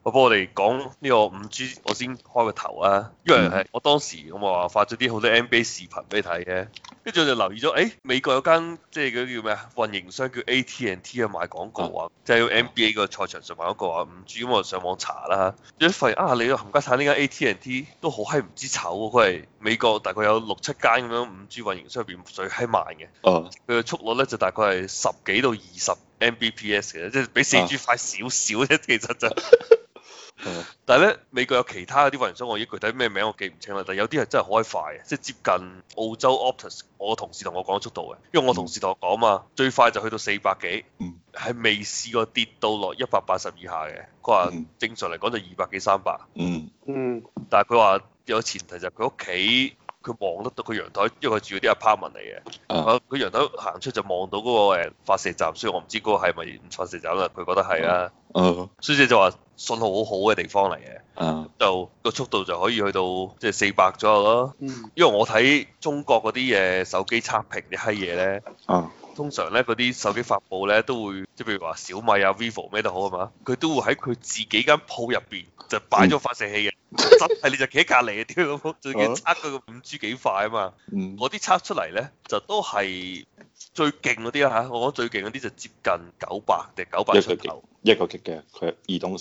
不過我哋講呢個5G，我先開個頭啊，因為係我當時我咪話發咗啲好多 NBA 視頻俾你睇嘅，跟住我就留意咗，美國有間即係嗰啲叫咩啊，運營商叫 AT&T 啊，賣廣告啊，即係 NBA 個賽場上賣廣告啊，5G，咁我就上網查啦，一發現啊，你個冚家鏟呢間 AT&T 都好閪唔知醜喎，佢係美國大概有6、7間咁樣 5G 運營商入邊最閪慢嘅，佢嘅速率咧就大概係10幾到20 Mbps 嘅，即係比 4G 快少少啫，其實就。但係咧，美國有其他啲運營商，我已經具體咩名我記唔清啦。但係有啲係真係好閪快嘅，即係接近澳洲 Optus。我同事同我講速度嘅，因為我同事同我講嘛，最快就去到400幾，係未試過跌到落180以下嘅。佢話正常嚟講就200幾300。但係佢話有前提就係佢屋企。佢望得到佢陽台，因為佢住嗰啲 apartment 嚟嘅。佢陽台行出就望到嗰個發射站，所以我唔知嗰個係咪發射站啦。佢覺得係啊。所以就話信號好好嘅地方嚟嘅。就個速度就可以去到即係400左右咯。因為我睇中國嗰啲手機測評啲閪嘢咧。通常咧嗰啲手機發布咧都會，即係譬如話小米啊、vivo 咩都好啊嘛，佢都會喺佢自己間鋪入邊就擺咗發射器嘅，真係你就企喺隔離嘅，屌咁，最緊測佢個5G 幾快啊嘛，嗰啲測出嚟咧就都係最勁嗰啲啦嚇，我講最勁嗰啲就接近900定900出頭， 一個 G 嘅，佢移動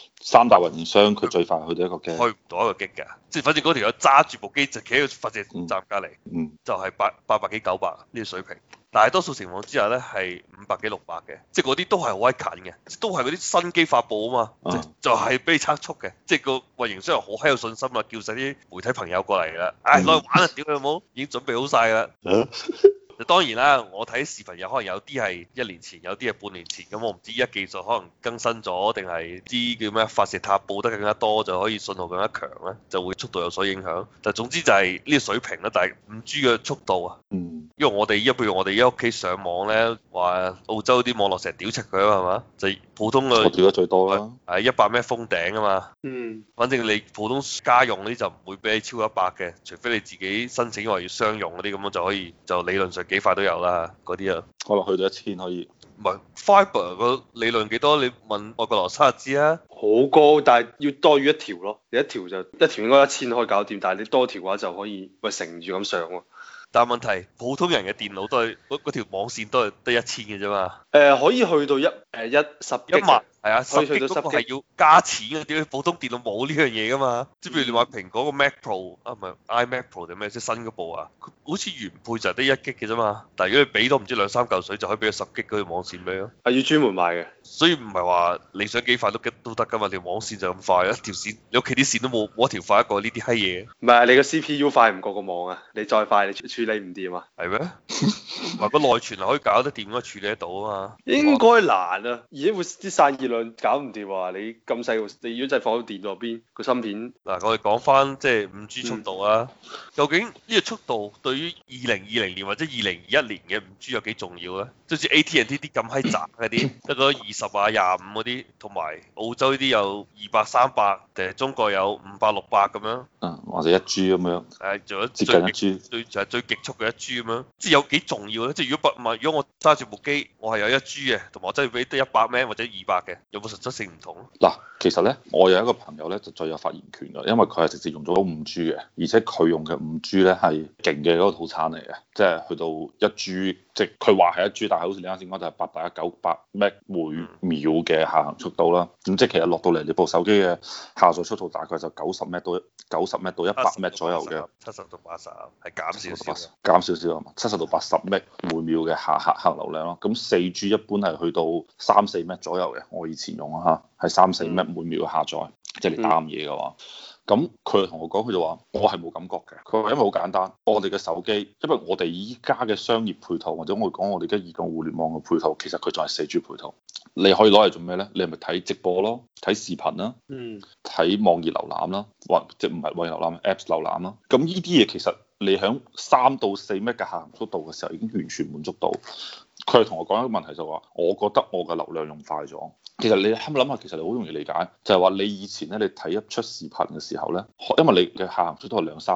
3大運營商佢最快去到1個 G， 開唔到1個 G㗎，即係反正嗰條友揸住部機就企喺個發射站隔離，就係800幾900呢個水平。大多數情況之下咧係500幾600嘅，即係嗰啲都係好閪近嘅，都係嗰啲新機發布啊嘛，就係俾你測速嘅，即係個運營商好閪有信心啦，叫晒啲媒體朋友過嚟啦，攞去玩啊，屌你冇，已經準備好晒啦。當然啦，我睇視頻有可能有啲係1年前，有啲係半年前，咁我唔知依家技術可能更新咗，定係啲叫咩發射塔布得更加多，就可以信號更加強咧，就會速度有所影響。但總之就係呢個水平啦，但係5G 嘅速度啊。因為我哋譬如我哋喺屋企上網咧，話澳洲啲網絡成日屌柒佢啊嘛，係嘛？就普通嘅， 我屌得最多啦， 係100 M 封頂啊嘛。反正你普通家用嗰啲就唔會俾你超過100嘅，除非你自己申請話要商用嗰啲咁樣就可以，就理論上幾快都有啦嗰啲啊。 可能去到1000可以。 唔係 Fiber 個理論幾多？你問外國羅生就知啊。 好高，但係要多於一條咯。你一條應該1000可以搞掂，但係你多條嘅話就可以咪乘住咁上喎。 但係問題，普通人嘅電腦都係嗰條網線都係得1000嘅啫嘛。 可以去到10萬， 係啊，10 G 嗰個係要加錢嘅，點解普通電腦冇呢樣嘢噶嘛？即係譬如你買蘋果個 Mac Pro 啊，唔係 iMac Pro 定咩？即係新嗰部啊，佢好似原配就係得1G 嘅啫嘛。但係如果你俾多唔知2、3嚿水，就可以俾佢10 G 嗰條網線俾咯。 係要專門買嘅， 所以唔係話你想幾快都得噶嘛？條網線就咁快，一條線你屋企啲線都冇一條快過呢啲閪嘢。 唔係你個 CPU 快唔過個網啊？你再快你處理唔掂啊？ 係咩？唔係個內存係可以搞得掂，應該處理得到啊嘛。 應該難啊，而且會啲散熱量搞唔掂啊！你咁細個，你如果真係放喺電腦入邊個芯片， 嗱我哋講翻即係5G 速度啊，究竟呢個速度對於2020年或者2021年嘅5G 有幾重要咧？即好似 AT&T 啲咁閪雜嗰啲，得嗰20啊25嗰啲，同埋澳洲呢啲有200、300，定係中國有500、600咁樣， 或者1G 咁樣， 仲有接近1G， 最極速嘅1G咁樣，即係有幾重要咧？即係如果我揸住部機，我係有1G嘅，同埋我真係俾得100 M 或者200嘅，有冇實質性唔同？ 嗱，其實咧，我有一個朋友咧就最有發言權㗎，因為佢係直接用咗 5G 嘅，而且佢用嘅 5G 咧係勁嘅嗰個套餐嚟嘅，即係去到1G，即係佢話係1G，但係好似你啱先講就係819百 Mbps 每秒嘅下行速度啦。咁即係其實落到嚟你部手機嘅下載速度大概就90 Mbps 到100 Mbps 左右嘅 ，70到80係減少少， 減少少啊嘛，70到80 Mbps 每秒嘅下行流量咯。咁4G 一般係去到3、4 Mbps 左右嘅，我以前用啊嚇，係3、4 Mbps 每秒嘅下載，即係你打嘢嘅話。咁佢同我講，佢就話我係冇感覺嘅。佢話因為好簡單，我哋嘅手機，因為我哋依家嘅商業配套或者我講我哋而家移動互聯網嘅配套，其實佢仲係 4G 配套。你可以攞嚟做咩咧？你係咪睇直播咯，睇視頻啦，睇網頁瀏覽啦，或即唔係網頁瀏覽 Apps 瀏覽啦。咁呢啲嘢其實你響3到4 Mbps 嘅下行速度嘅時候已經完全滿足到。佢係同我講一個問題就話，我覺得我嘅流量用快咗。其實你諗下，其實你好容易理解，就係話你以前咧，你睇一出視頻嘅時候咧，因為你嘅下行速度係2、3 Mbps，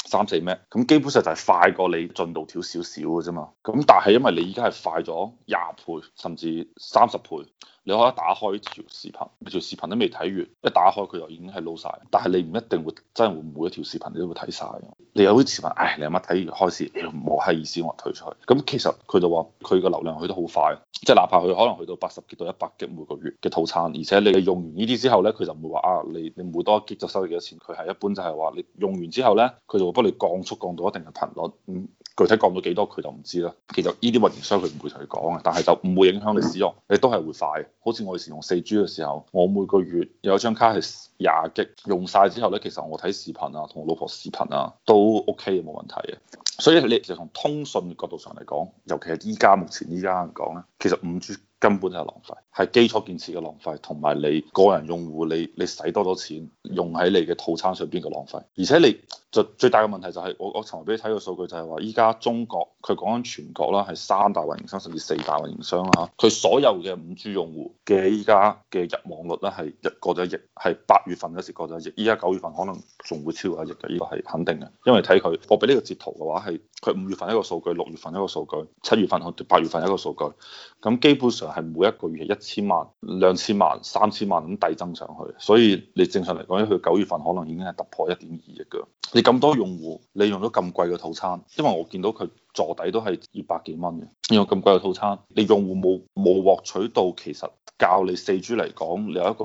3、4 Mbps，咁基本上就係快過你進度條少少嘅啫嘛。咁但係因為你而家係快咗20倍甚至30倍。你可以打開條視頻，你條視頻都未睇完，一打開佢就已經係撈晒。但係你唔一定會真係會每一條視頻你都會睇晒。你有啲視頻，唉，你阿媽睇完開始，冇閪意思，我退出去。咁其實佢就話佢個流量去得好快，即係哪怕佢可能去到80G到100G每個月嘅套餐，而且你用完呢啲之後咧，佢就唔會話啊，你每多一 G 就收你幾多錢。佢係一般就係話你用完之後咧，佢就會幫你降速降到一定嘅頻率。具體降到幾多佢就唔知啦。其實呢啲運營商佢唔會同你講嘅，但係就唔會影響你使用，你都係會快。好似我以前用4G 嘅時候，我每個月有一張卡係20G，用晒之後咧，其實我睇視頻啊，同我老婆視頻啊都 OK 嘅，冇問題嘅。所以你就從通訊角度上嚟講，尤其係目前依家嚟講咧，其實5G根本就係浪費，係基礎建設嘅浪費，同埋你個人用戶你使多咗錢用喺你嘅套餐上邊嘅浪費。而且你最大嘅問題就係我尋日俾你睇個數據就係話，依家中國佢講緊全國啦，係3大運營商甚至4大運營商啦，佢所有嘅5G 用戶嘅依家嘅入網率咧係過咗1億，係8月份嗰時過咗1億，依家9月份可能仲會超過1億嘅，呢個係肯定嘅。因為睇佢，我俾呢個截圖嘅話係佢5月份一個數據，6月份一個數據，7月份同8月份一個數據，咁基本上係每一個月係1000萬、2000萬、3000萬咁遞增上去，所以你正常嚟講，佢9月份可能已經係突破1.2億㗎。你咁多用戶，你用咗咁貴嘅套餐，因為我見到佢座底都係200幾蚊嘅，用咁貴嘅套餐，你用戶冇獲取到其實較你4G 嚟講，你有一個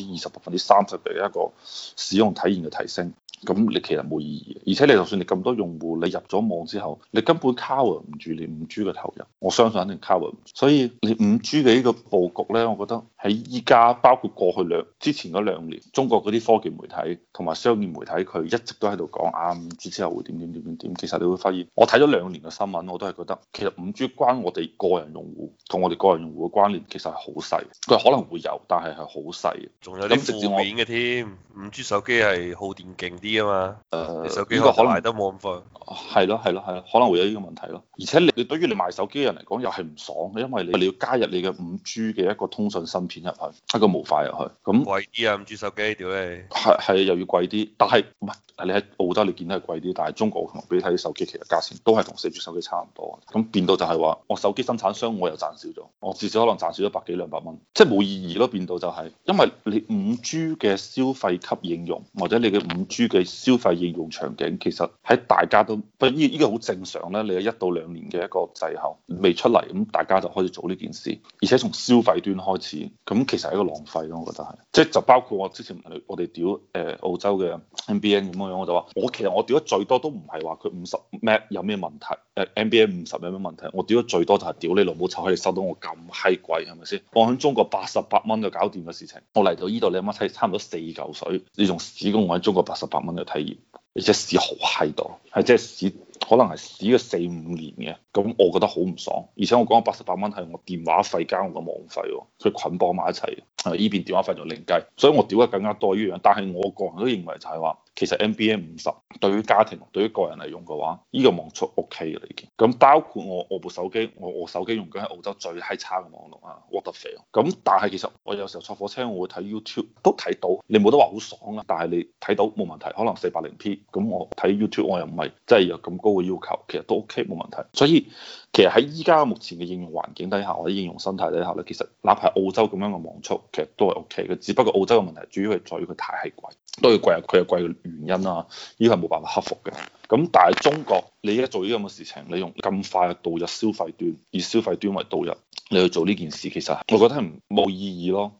20%、30%嘅一個使用體驗嘅提升。咁你其實冇意義，而且你就算你咁多用戶，你入咗網之後，你根本 cover 唔住你5G 嘅投入，我相信肯定 cover 唔住。所以你5G 嘅呢個佈局咧，我覺得喺依家包括過去之前嗰2年，中國嗰啲科技媒體同埋商業媒體佢一直都喺度講啊5G 之後會點。其實你會發現，我睇咗2年嘅新聞，我都係覺得其實5G 關我哋個人用戶同我哋個人用戶嘅關聯其實係好細，佢可能會有，但係係好細。 仲有啲負面嘅添，5G 手機係耗電勁啲啊嘛。你手機呢個可能賣得冇咁快。 係咯，可能會有呢個問題咯。而且你對於你賣手機嘅人嚟講又係唔爽，因為你要加入你嘅5G 嘅一個通訊芯片入去，一個模塊入去，咁貴啲啊！5G 手機屌你， 係又要貴啲，但係唔係你喺澳洲你見到係貴啲，但係中國同俾你睇啲手機其實價錢都係同4G 手機差唔多，咁變到就係話我手機生產商我又賺少咗，我至少可能賺少咗100幾200蚊，即係冇意義咯。變到就係因為你5G 嘅消費級應用或者你嘅5G 嘅消費應用場景，其實喺大家都不呢個好正常咧。你有1到2年嘅一個滯後未出嚟，咁大家就開始做呢件事，而且從消費端開始，咁其實係一個浪費咯。我覺得係，即係就包括我之前我哋屌澳洲嘅 NBN 咁樣，我就話其實我屌得最多都唔係話佢50 Mbps 有咩問題，NBN 50有咩問題，我屌得最多就係屌你老母臭，可以收到我咁閪貴係咪先？我喺中國88蚊就搞掂嘅事情，我嚟到呢度你阿媽睇差唔多4嚿水，你仲使用我喺中國88蚊嘅體驗，而且使好閪多，係即係使可能係使咗4、5年嘅，咁我覺得好唔爽。而且我講88蚊係我電話費加我個網費喎，佢捆綁埋一齊，呢邊電話費就另計，所以我屌得更加多呢樣。但係我個人都認為就係話，其實 NBN 50對於家庭對於個人嚟用嘅話，呢個網速 OK 嘅已經。咁包括我部手機，我手機用緊喺澳洲最閪差嘅網絡啊，what the fuck。咁但係其實我有時候坐火車我會睇 YouTube 都睇到，你冇得話好爽啊，但係你睇到冇問題，可能480p。咁我睇 YouTube 我又唔係真係有咁高嘅要求，其實都 OK 冇問題。所以其實喺依家目前嘅應用環境底下或者應用生態底下咧，其實哪怕澳洲咁樣嘅網速，其實都係 OK 嘅。只不過澳洲嘅問題主要係在於佢太係貴，都要貴，佢有貴嘅原因啦，呢個係冇辦法克服嘅。咁但係中國你而家做呢咁嘅事情，你用咁快嘅導入消費端，以消費端為導入，你去做呢件事，其實我覺得係冇意義咯。